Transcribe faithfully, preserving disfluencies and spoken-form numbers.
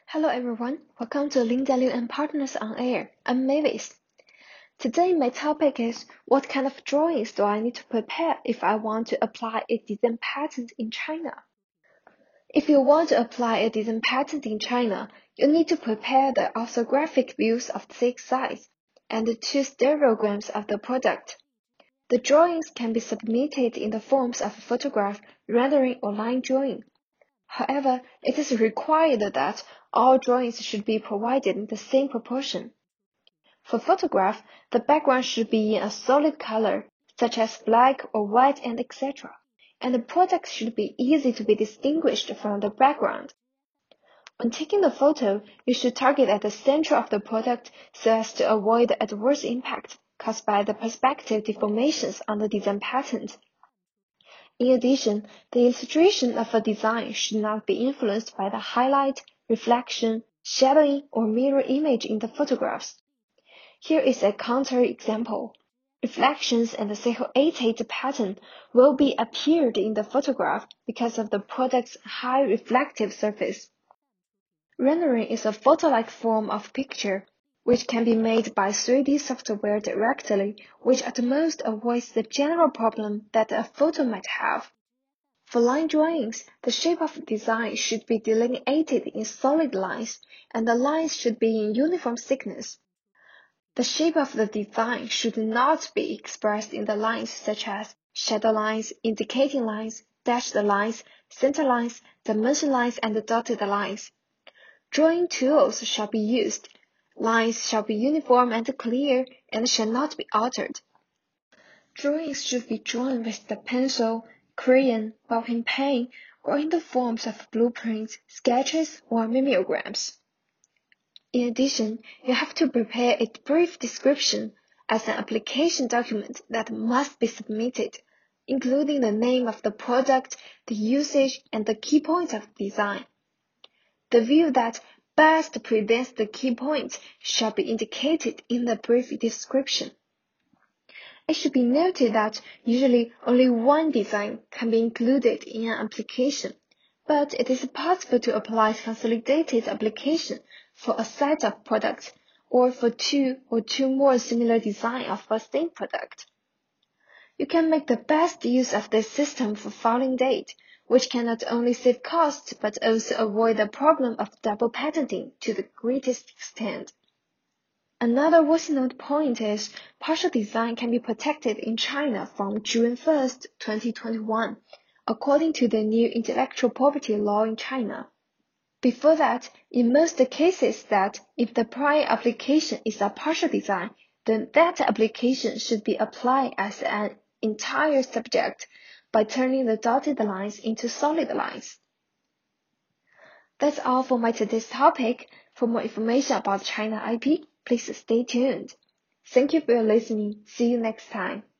Hello everyone, welcome to Linda Liu and Partners on Air. I'm Mavis. Today my topic is what kind of drawings do I need to prepare if I want to apply a design patent in China? If you want to apply a design patent in China, you need to prepare the orthographic views of six sides and two stereograms of the product. The drawings can be submitted in the forms of photograph, rendering, or line drawing. However, it is required that all drawings should be provided in the same proportion. For photograph, the background should be in a solid color, such as black or white and et cetera, and the product should be easy to be distinguished from the background. When taking the photo, you should target at the center of the product so as to avoid the adverse impact caused by the perspective deformations on the design patent. In addition, the illustration of a design should not be influenced by the highlight, reflection, shadowing, or mirror image in the photographs. Here is a counter-example. Reflections and the silhouetted pattern will be appeared in the photograph because of the product's high reflective surface. Rendering is a photo-like form of picture, which can be made by three D software directly, which at most avoids the general problem that a photo might have. For line drawings, the shape of the design should be delineated in solid lines, and the lines should be in uniform thickness. The shape of the design should not be expressed in the lines such as shadow lines, indicating lines, dashed lines, center lines, dimension lines, and dotted lines. Drawing tools shall be used. Lines shall be uniform and clear and shall not be altered. Drawings should be drawn with the pencil, crayon, ballpoint pen, or in the forms of blueprints, sketches, or mimeograms. In addition, you have to prepare a brief description as an application document that must be submitted, including the name of the product, the usage, and the key points of the design. The view that best presents the key points shall be indicated in the brief description. It should be noted that usually only one design can be included in an application, but it is possible to apply consolidated application for a set of products or for two or two more similar designs of the same product. You can make the best use of this system for filing date, which can not only save costs but also avoid the problem of double patenting to the greatest extent. Another worth note point is partial design can be protected in China from June first, twenty twenty-one, according to the new intellectual property law in China. Before that, in most cases that if the prior application is a partial design, then that application should be applied as an entire subject by turning the dotted lines into solid lines. That's all for my today's topic. For more information about China I P, please stay tuned. Thank you for listening. See you next time.